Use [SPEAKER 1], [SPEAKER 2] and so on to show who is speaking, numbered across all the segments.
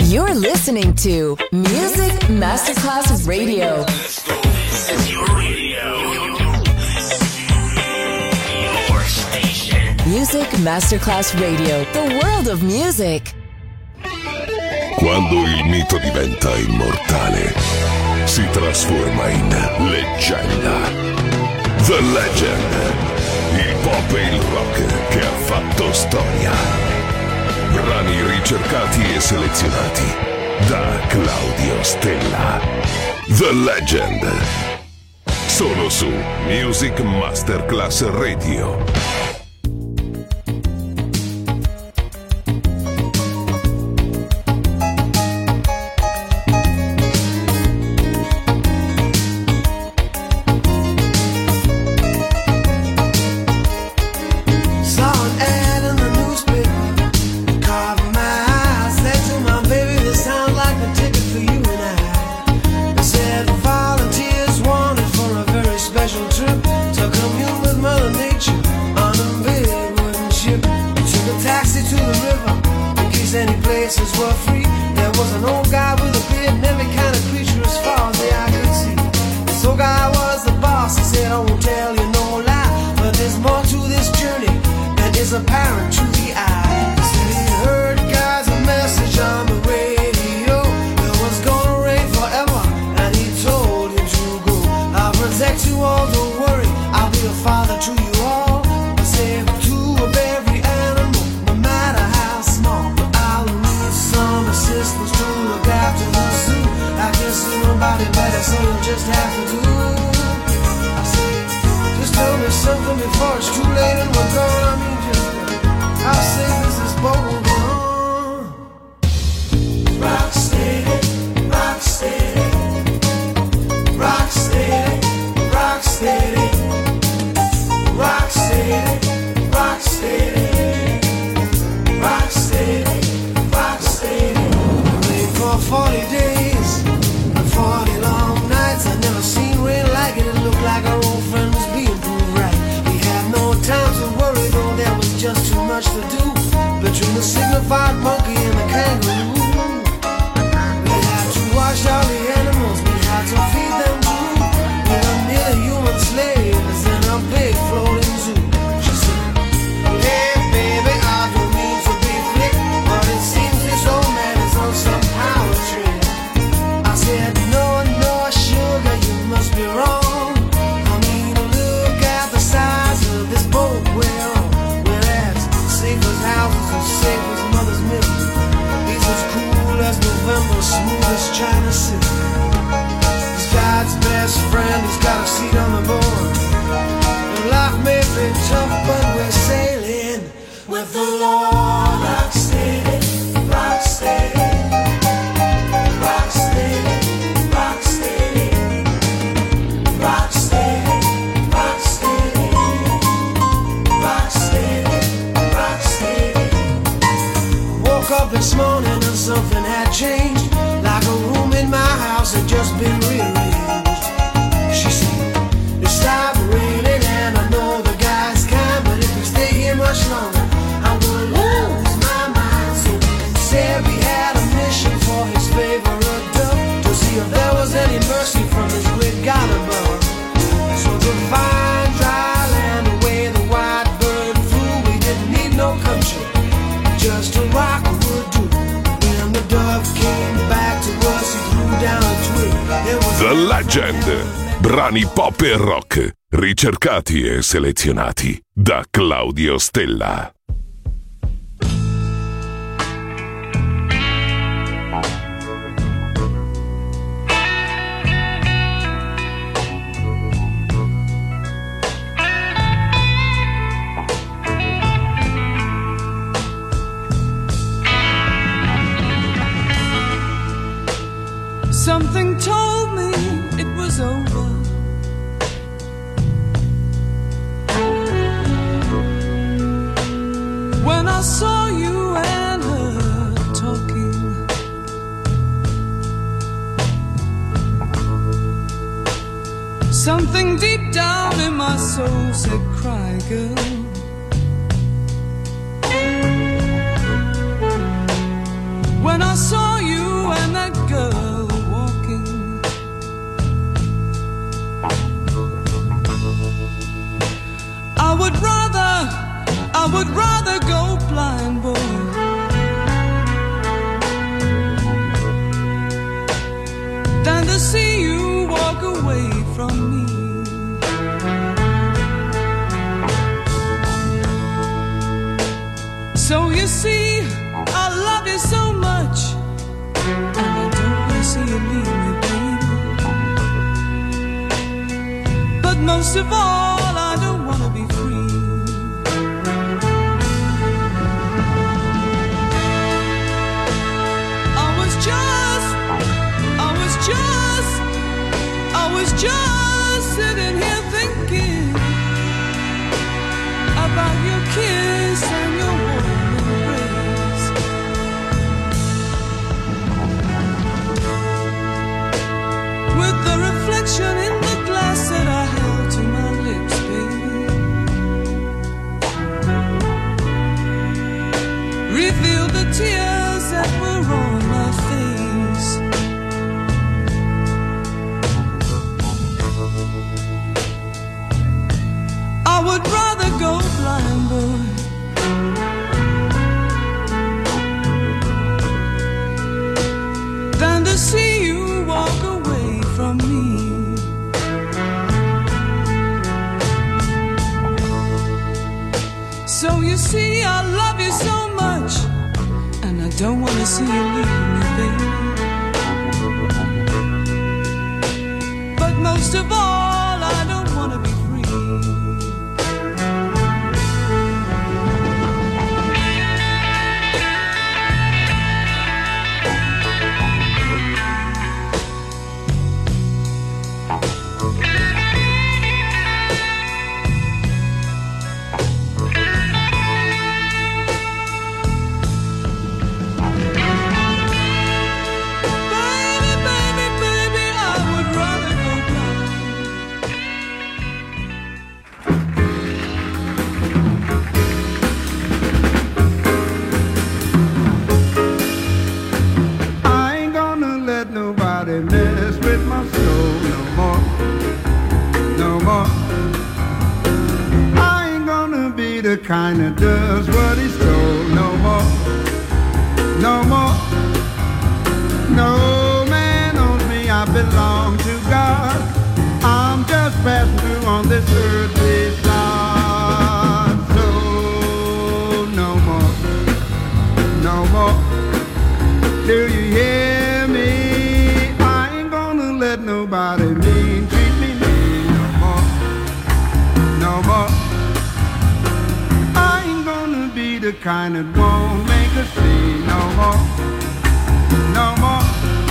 [SPEAKER 1] You're listening to Music Masterclass Radio.
[SPEAKER 2] It's your radio. Your station.
[SPEAKER 1] Music Masterclass Radio. The world of music.
[SPEAKER 3] Quando il mito diventa immortale, si trasforma in leggenda. The Legend. Il pop e il rock che ha fatto storia. Brani ricercati e selezionati da Claudio Stella. The Legend. Solo su Music Masterclass Radio. The Legend. Brani pop e rock ricercati e selezionati da Claudio Stella.
[SPEAKER 4] Something told me it was over. When I saw you and her talking, something deep down in my soul said, cry, girl. When I saw you you see, I love you so much, and I don't want to see you leave me, baby. But most of all, I don't want to be free. I was just sitting here thinking about your kiss and your warm embrace. With the reflection in the glass that I held to my lips, baby, revealed the tears that were on my face. I would rather go blind, boy, than to see you walk away from me. So you see, I love you so much, and I don't want to see you leave me, baby. But most of all, I don't want to be free.
[SPEAKER 5] Mess with my soul no more, no more. I ain't gonna be the kind that does what he's told no more, no more. No man owns me, I belong to God. I'm just passing through on this earthly side. So no more, no more. Do you hear me? Let nobody treat me mean no more, no more. I ain't gonna be the kind that won't make a scene no more, no more.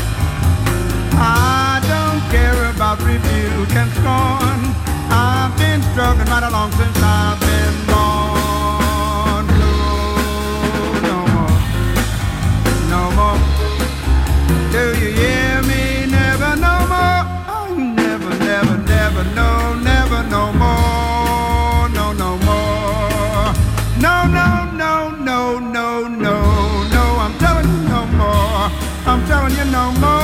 [SPEAKER 5] I don't care about rebuke and scorn. I've been struggling right along since I've been born. No more, no more. Do you hear me? Never no more. Oh, never, never, never, no, never no more. No, no more. No, no, no, no, no, no, no. I'm telling you no more. I'm telling you no more.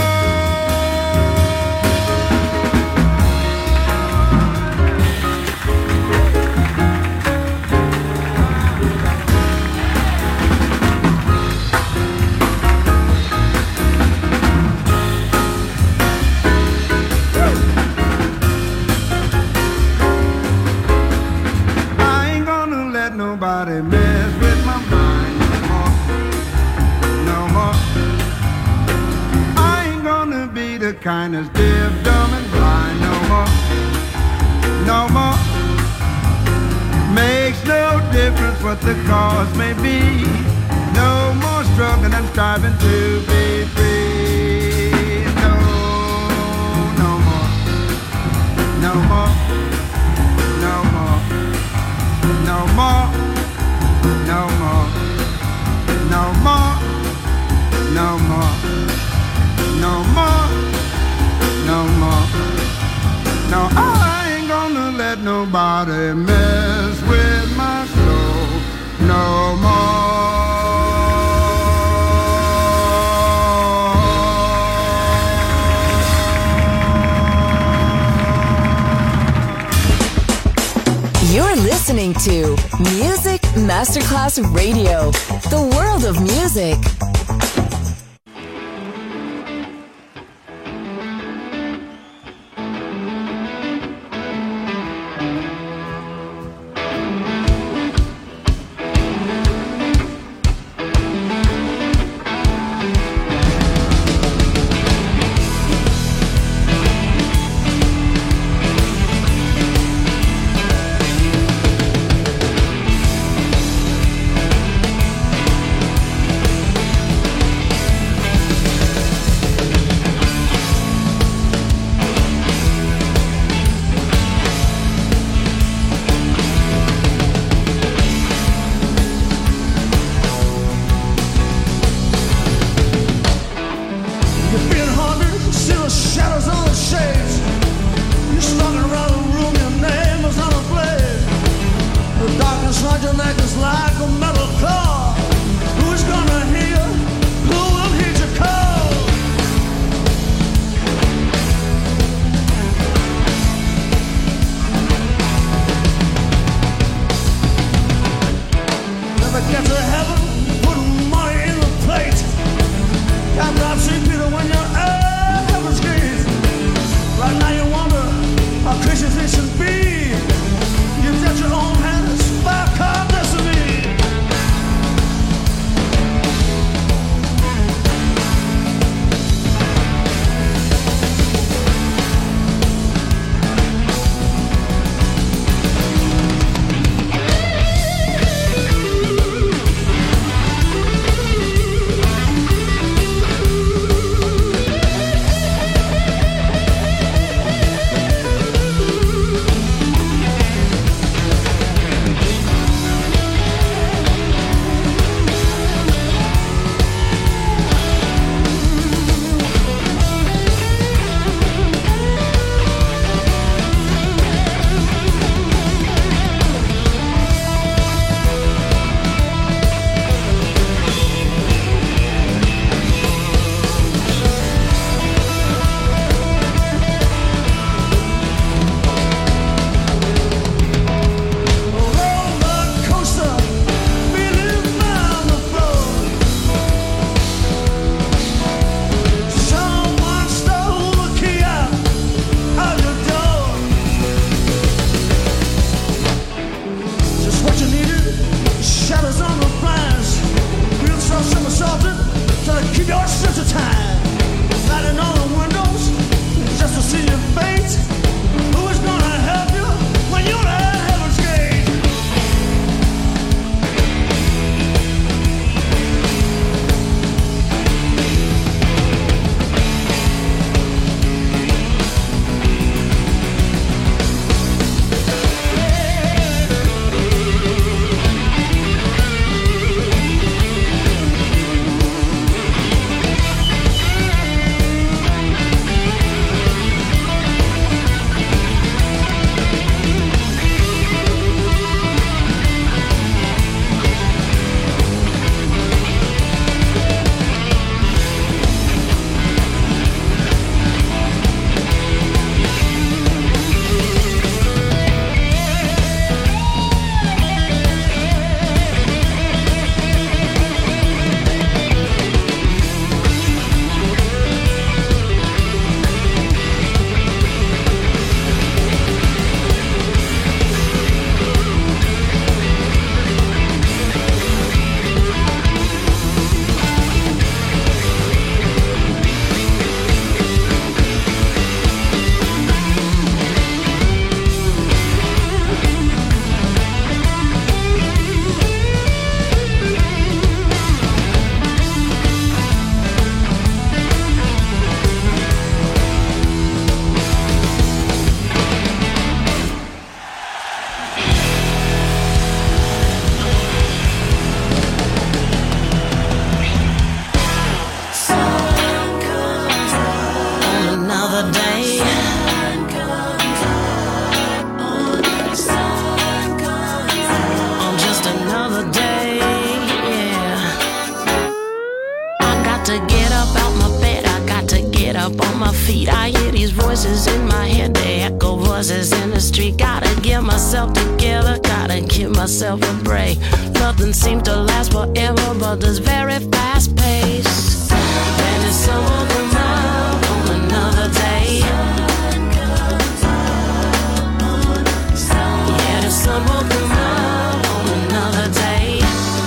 [SPEAKER 5] Nobody mess with my mind no more, no more. I ain't gonna be the kind that's deaf, dumb, and blind no more, no more. Makes no difference what the cause may be. No more struggling and striving to be free. No, no more, no more, no more, no more. No more, no more, no more, no more, no more. No, I ain't gonna let nobody mess with my soul no more.
[SPEAKER 1] You're listening to Music Masterclass Radio, the world of music.
[SPEAKER 6] got to get up out my bed, I got to get up on my feet. I hear these voices in my head, they echo voices in the street. Gotta get myself together, gotta give myself a break. Nothing seems to last forever, but this very fast pace. And it's some of the love on another day. Yeah, there's some of the love on another day.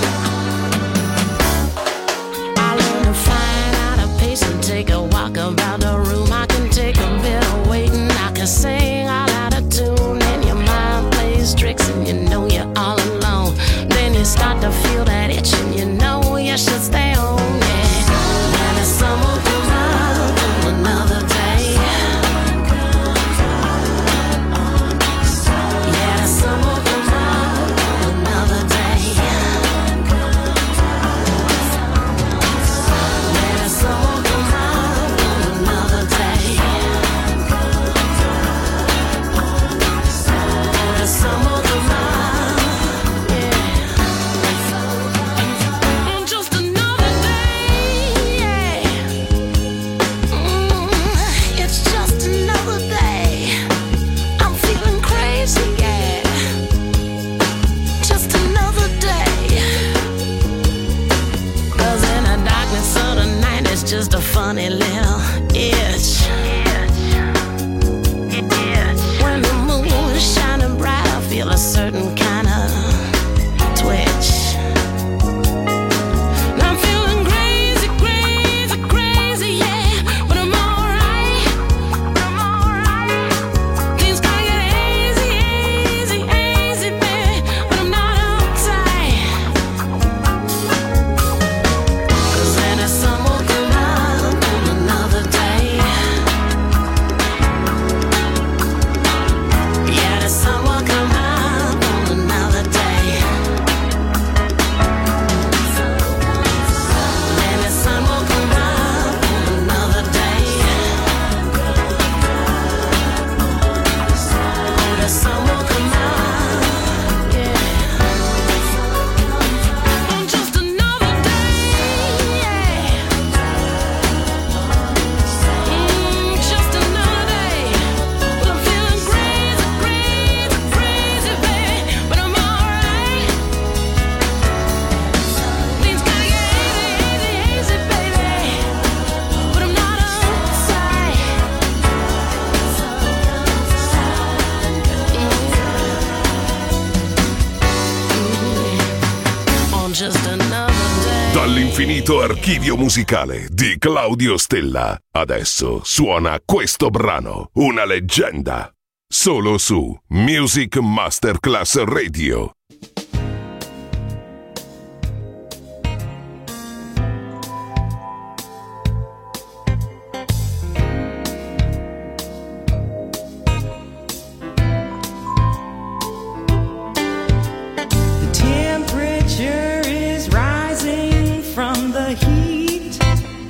[SPEAKER 6] I learn to find out a pace and take a walk about the room. I can take a bit of waiting, I can sing all out of tune, and your mind plays tricks and you know you're all alone. Then you start to feel that itch and you know you should stay home. Yeah, and it's some of the love on another day. Yeah, there's some of the love on another day. Yeah, there's some of the love on another day. There's some of the love, yeah. On just another day, yeah. It's just another day. I'm feeling crazy, yeah. Just another day. 'Cause in the darkness of the night, it's just a funny little itch. When the moon is shining bright, I feel a certain kind of twitch. And I'm feeling crazy, crazy, crazy, yeah. But I'm alright. Things gonna get easy, easy, easy, baby. But I'm not uptight. 'Cause then it's some of the love on another day. Yeah, there's some will come out on another day. And the sun will come out on another day. Oh, the sun will come out, yeah. On just another day, yeah. Just another day. But I'm feeling crazy, crazy, crazy, baby. But I'm alright. Things gonna get easy, easy, baby. But I'm not uptight. On just another day.
[SPEAKER 3] Dall'infinito archivio musicale di Claudio Stella. Adesso suona questo brano, una leggenda. Solo su Music Masterclass Radio.
[SPEAKER 4] The temperature is rising from the heat.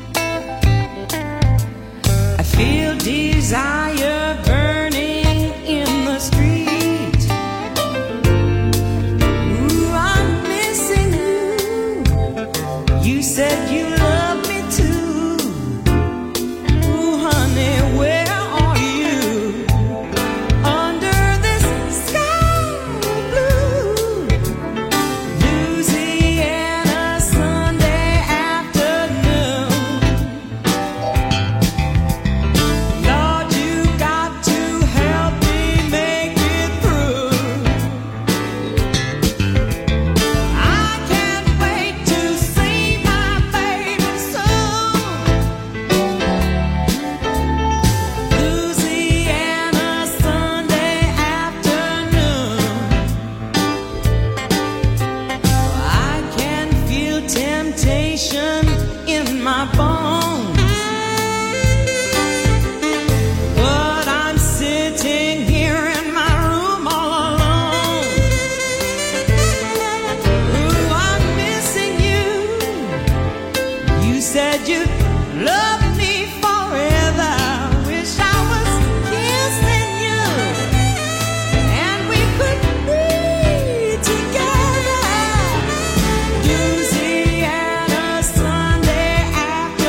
[SPEAKER 4] I feel desire burning in the street. Ooh, I'm missing you. You said you loved me too. Ooh, honey, where are you? Under this sky blue, Louisiana Sunday afternoon. Lord, you got to help me make it through. I can't wait to see my baby soon. Louisiana Sunday afternoon. I can feel temptation in my bones, but I'm sitting here in my room all alone. Ooh, I'm missing you. You said you'd love me forever. Wish I was kissing you and we could be together. Louisiana Sunday afternoon.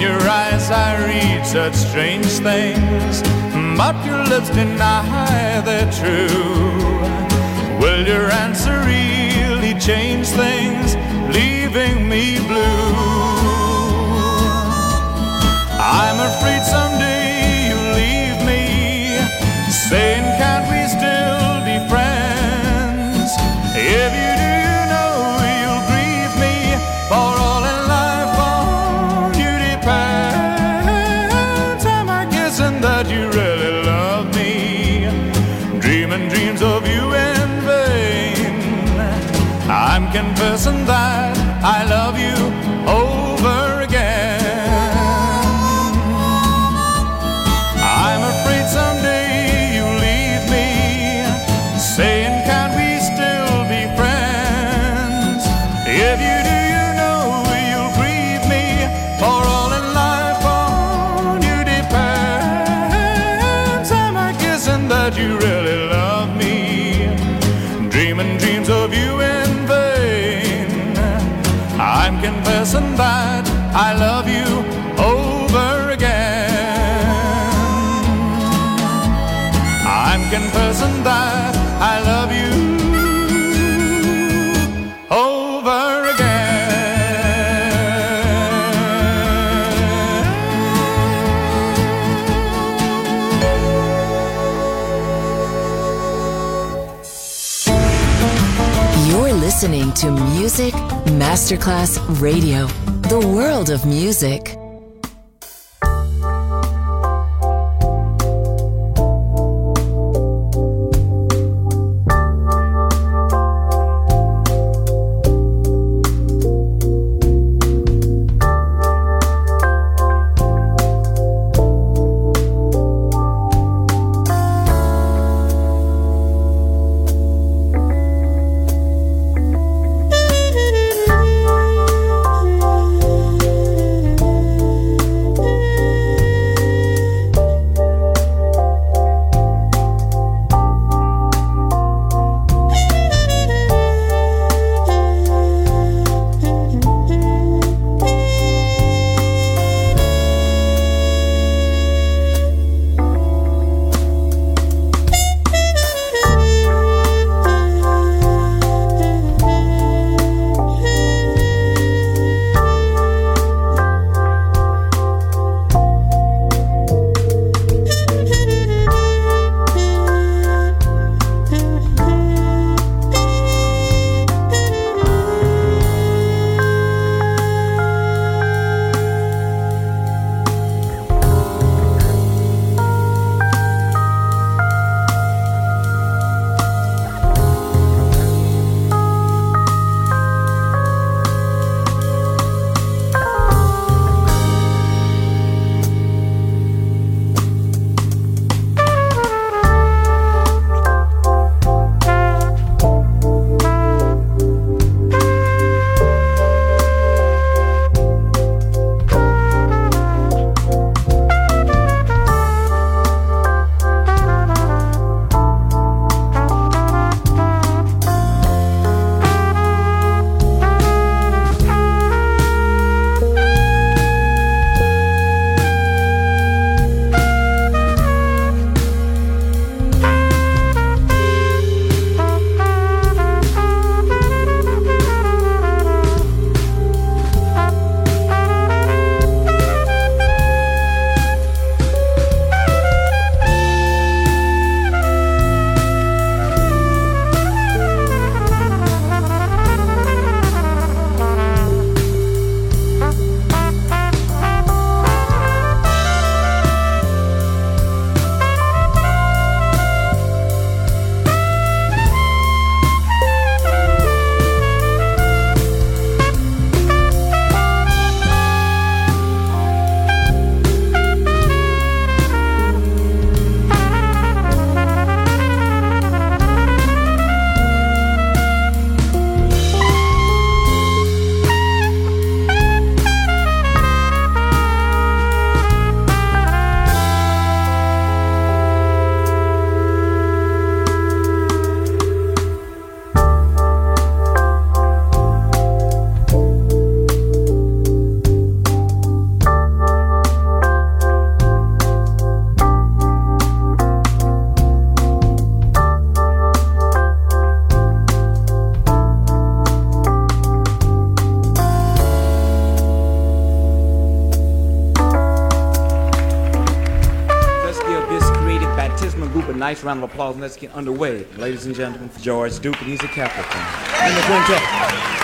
[SPEAKER 7] your eyes I read such strange things, but your lips deny they're true. Will your answer really change things, leaving me blue? I'm afraid someday you'll leave me, saying can't we still be friends? If you do, you know you'll grieve me, for all in life on you depends. Am I guessing that you really love me, dreaming dreams of you in vain? I'm confessing that I love you over again. I'm afraid someday you'll leave me, saying can't we still be friends? If you do, you know you'll grieve me, for all in life on you depends. Am I guessing that you really love me, dreaming dreams of you in vain? I'm confessing that I love you over again. I'm confessing that I love you over again.
[SPEAKER 1] You're listening to Music Masterclass Radio, the world of music.
[SPEAKER 8] Nice round of applause, and let's get underway. Ladies and gentlemen, for George Duke, and he's a Capricorn. And the quintet.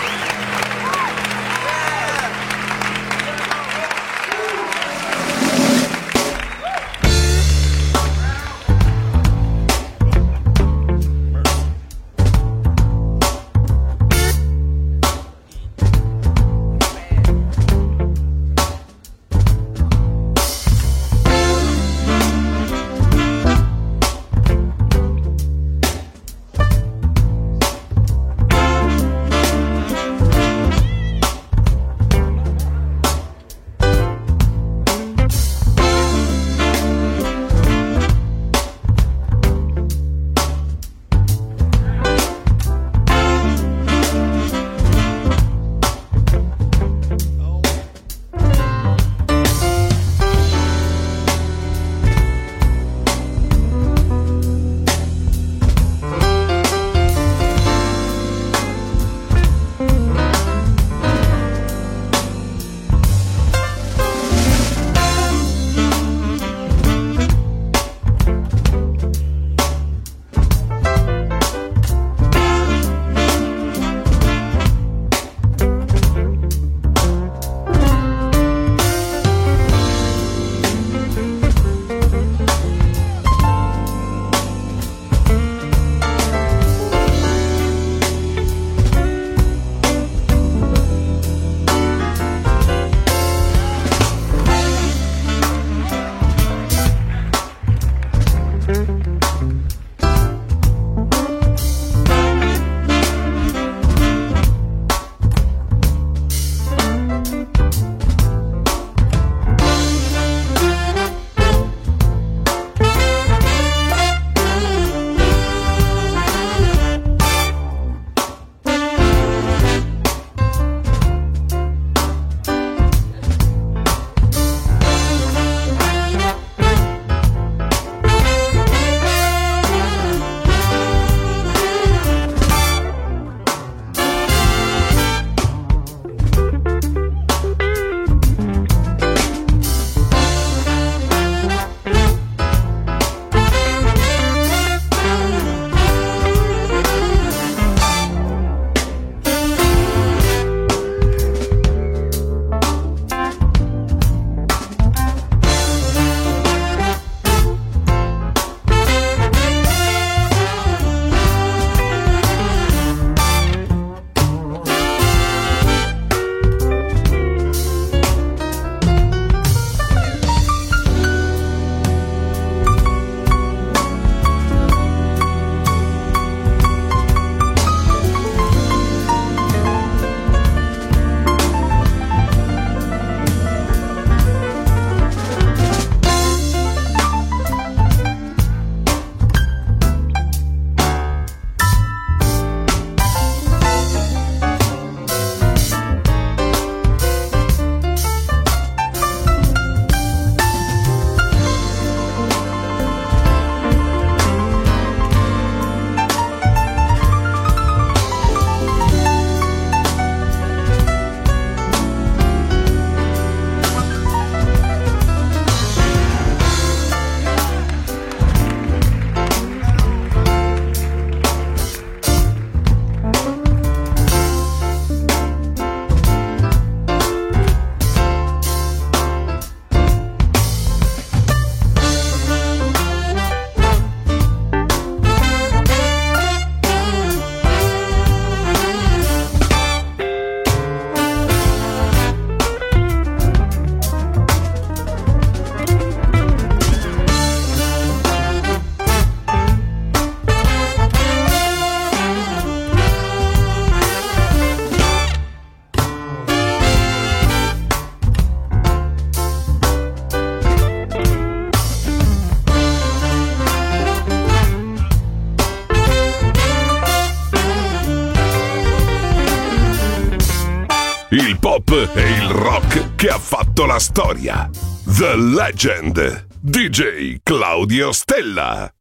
[SPEAKER 3] Il pop e il rock che ha fatto la storia. The Legend. DJ Claudio Stella.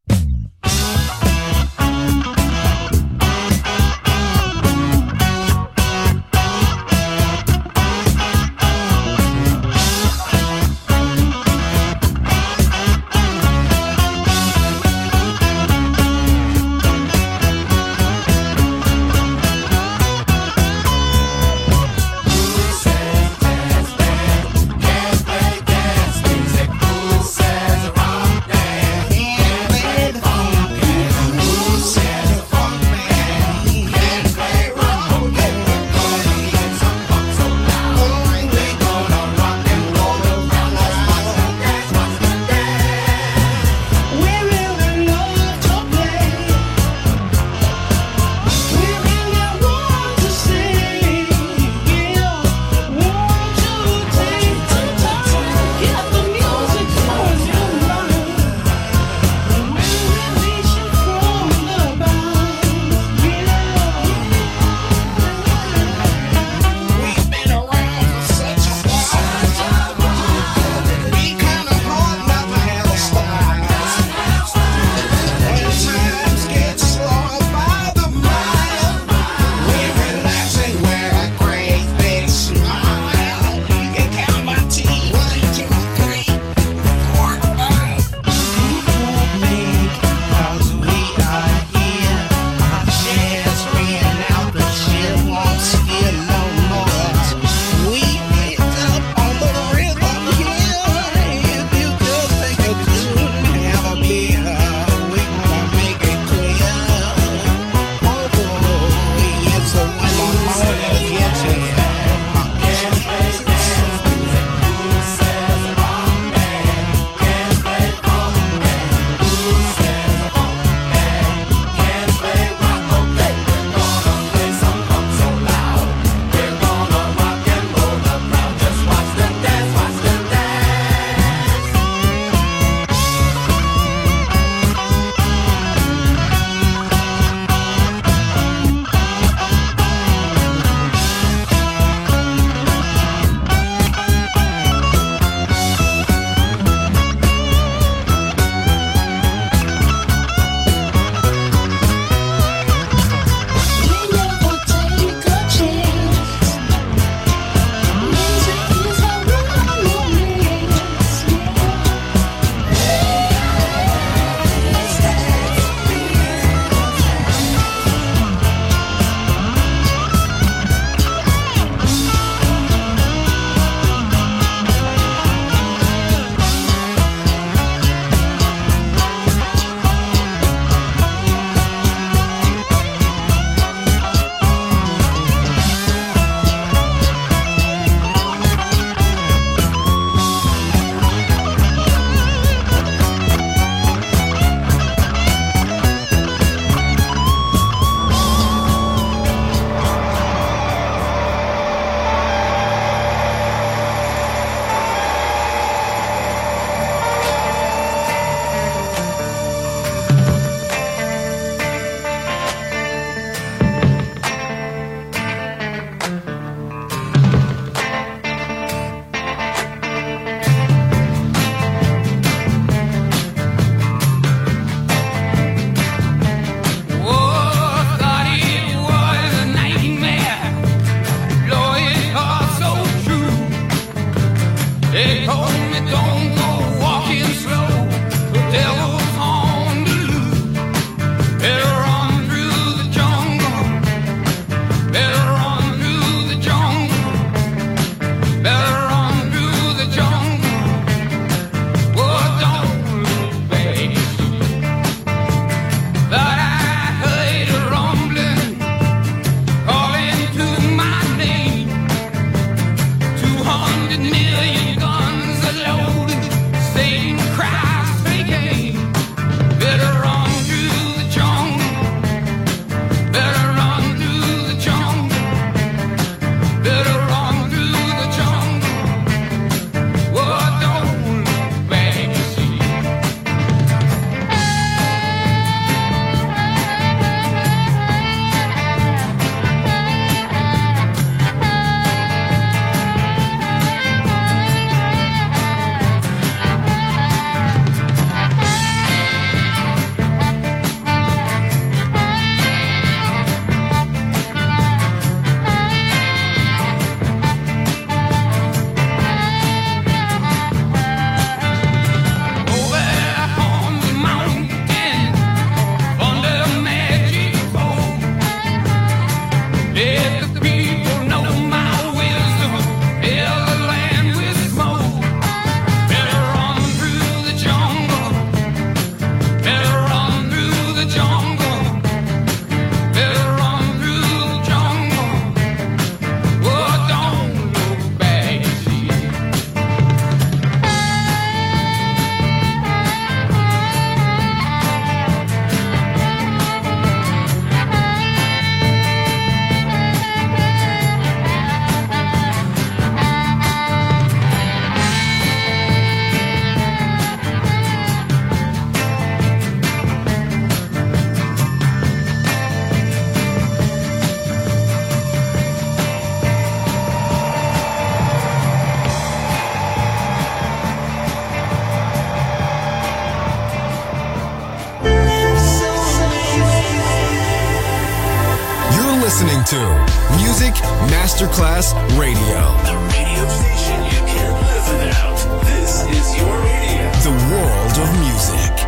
[SPEAKER 9] Music Masterclass Radio.
[SPEAKER 2] The radio station you can't live without. This is your radio.
[SPEAKER 9] The world of music.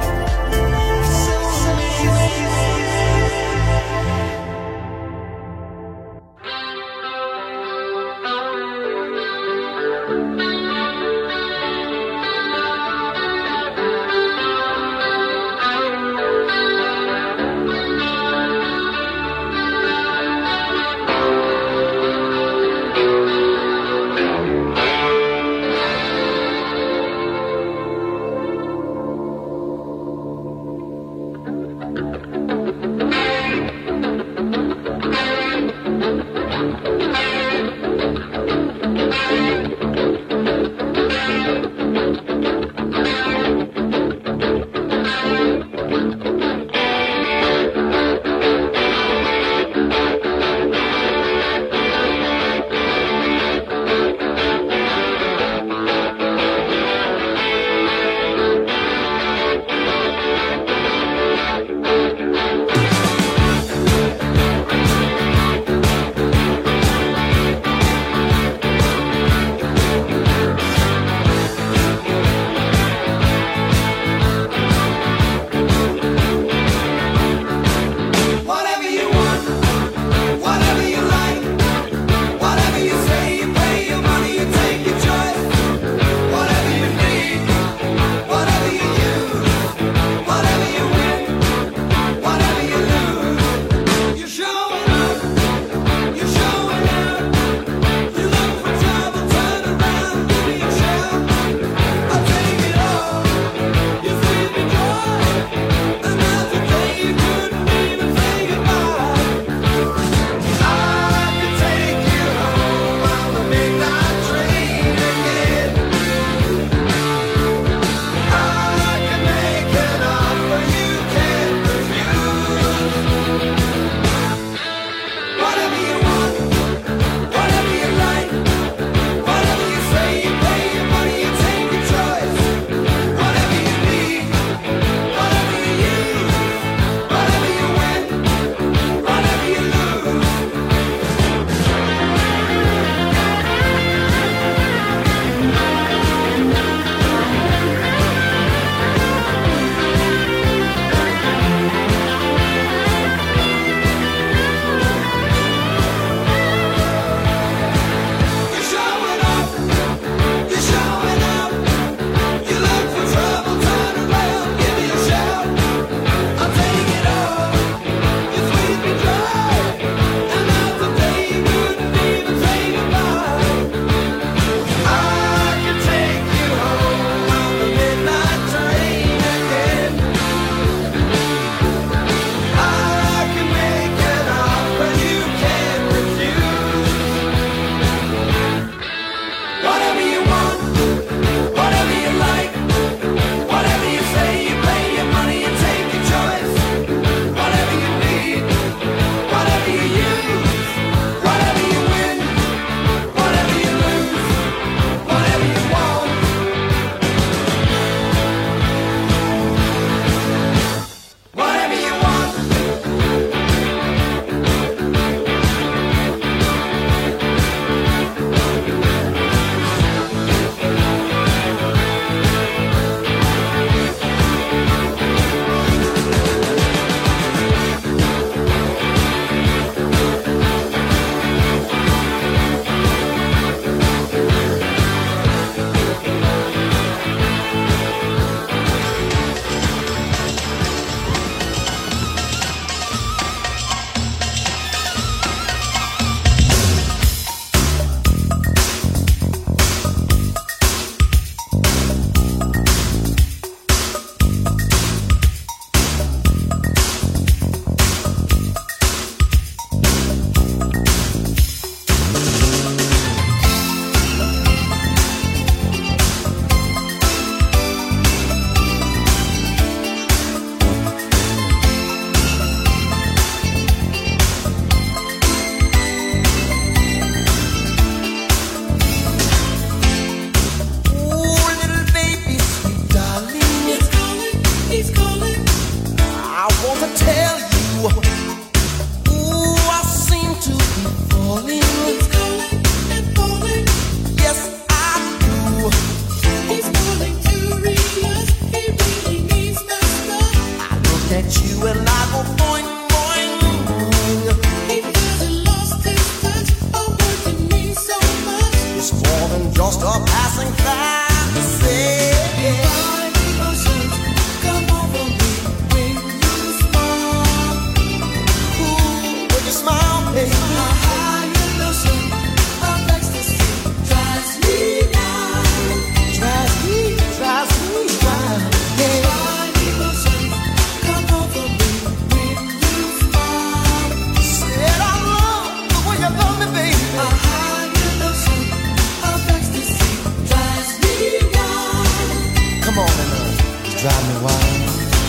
[SPEAKER 10] calling. He's calling and calling. Yes, I do. He's calling furious. He really needs my stuff. I look at you and I go boing, boing, boing. He hasn't lost his touch. A word to me so much. It's more than just a passing fantasy. Divine emotions come over me when you smile. Ooh, when you smile, baby. A higher notion of ecstasy drives me wild. Drives me wild. Divine emotions come over me when you smile. Said I love the way you love me, baby. A higher notion of ecstasy drives me wild. Come on, drive me wild.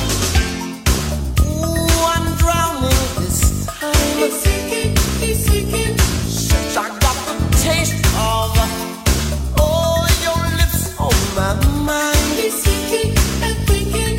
[SPEAKER 10] Ooh, I'm drowning this time. He's sinking. Since I got the taste of, oh, your lips on my mind. He's sinking and thinking.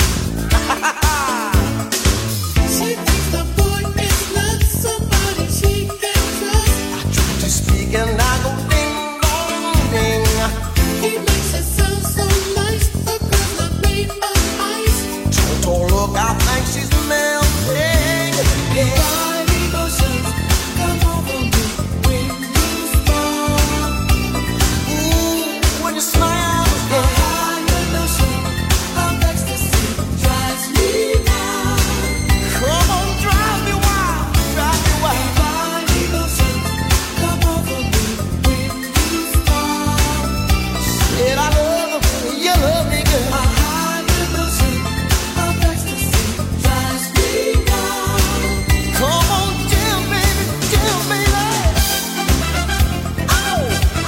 [SPEAKER 10] She thinks the boy is not somebody she can trust. I try to speak and I go ding dong ding. He makes it sound so nice. A girl's not made of ice. Don't look, I think she's melting. Divine emotions come over me when you smile. Ooh, when you smile. A higher notion of ecstasy drives me wild. Come on, drive me wild, drive me wild. Divine emotions come over me when you smile. Said I love you, love me good. A higher notion of ecstasy drives me wild. Come on, tell me, love. I know.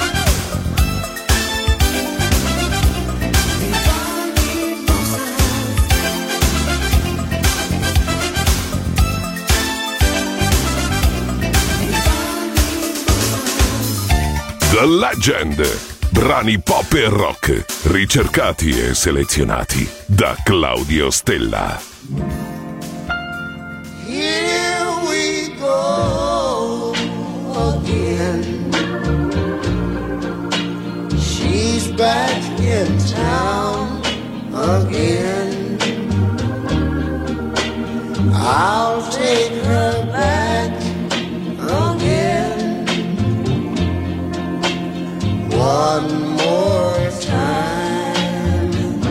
[SPEAKER 10] Divine emotions.
[SPEAKER 3] The Legend. Brani pop e rock, ricercati e selezionati da Claudio Stella.
[SPEAKER 10] Here we go again. She's back in town again. I'll take her back again. One more time.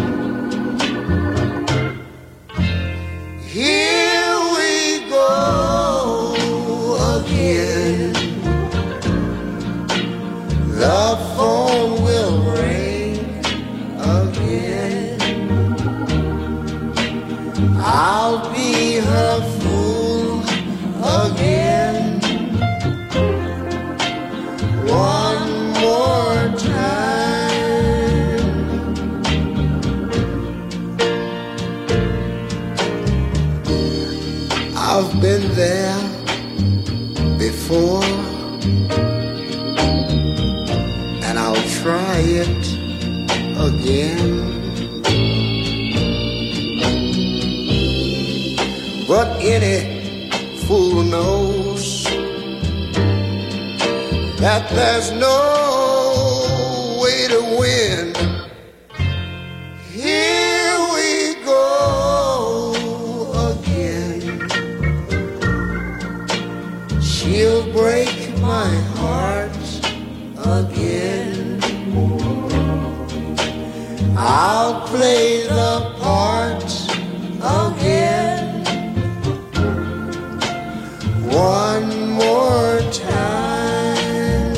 [SPEAKER 10] Here we go again. The phone will ring again. I'll be her fool again. One more time. I've been there before, and I'll try it again. But any fool knows that there's no way to win. Here we go again. She'll break my heart again. I'll play the part again. One more time.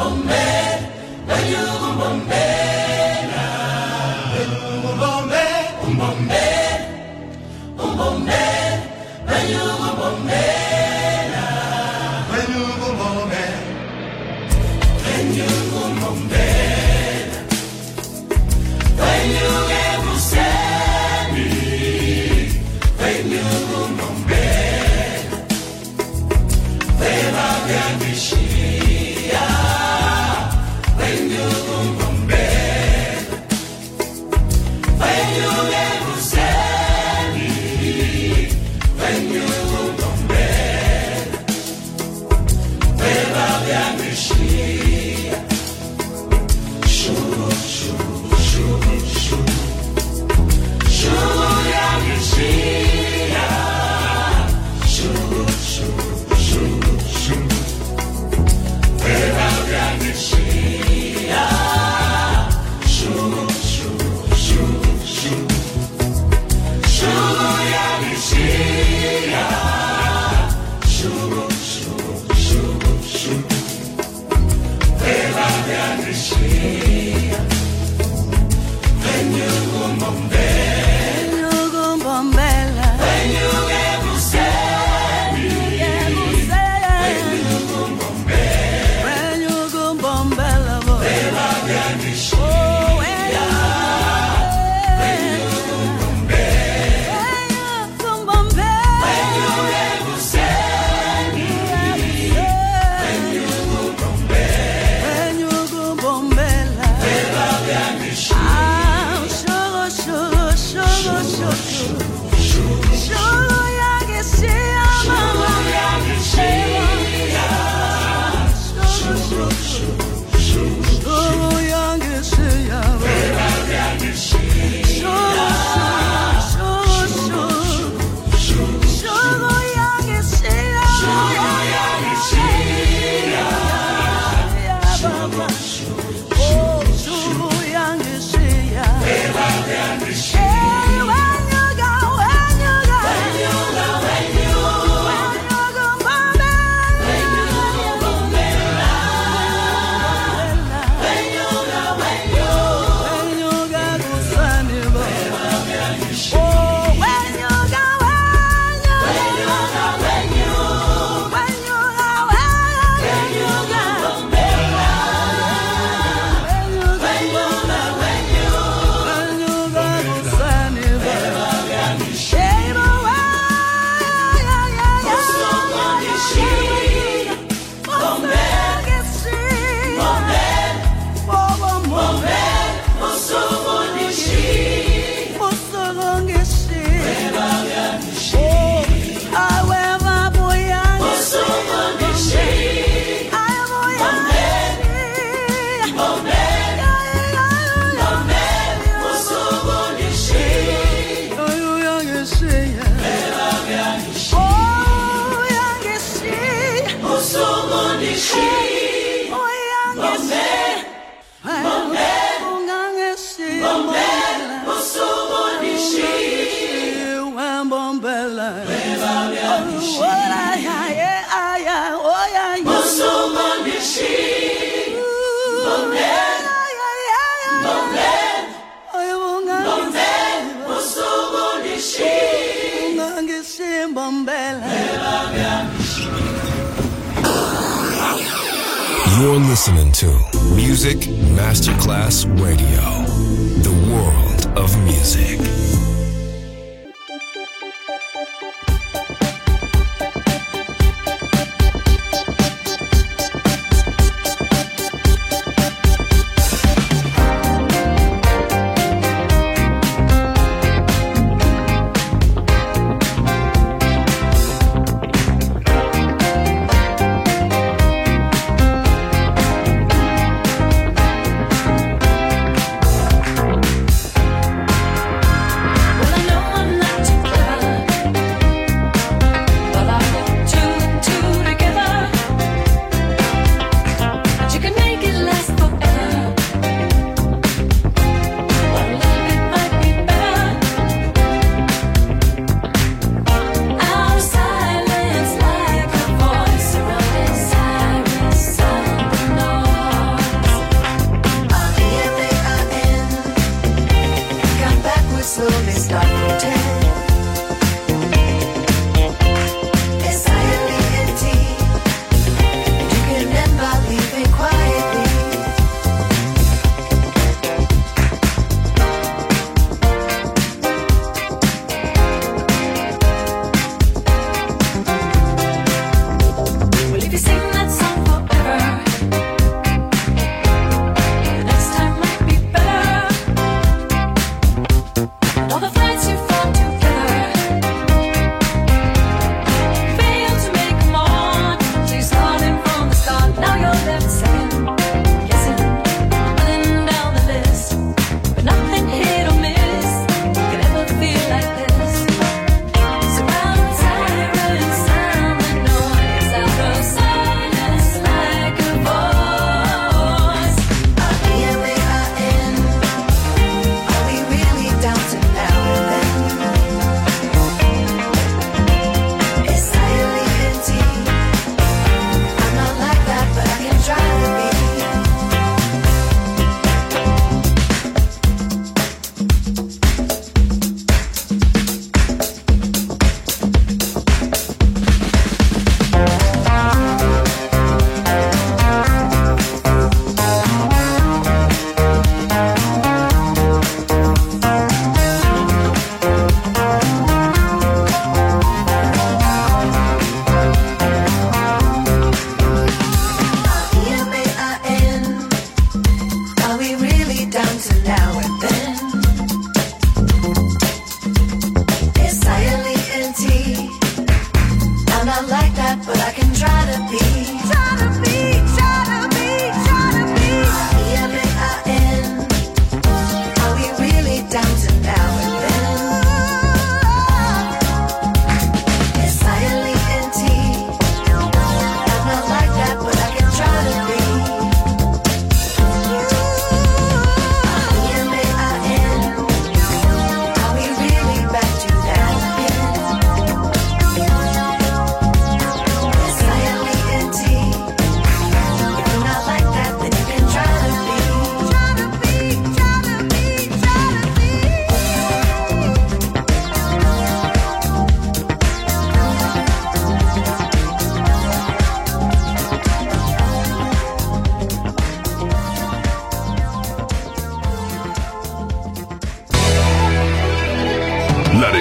[SPEAKER 9] You're listening to Music Masterclass Radio, the world of music.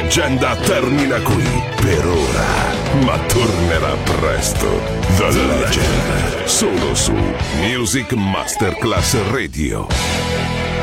[SPEAKER 3] leggenda termina qui per ora, ma tornerà presto. The Legend, solo su Music Masterclass Radio.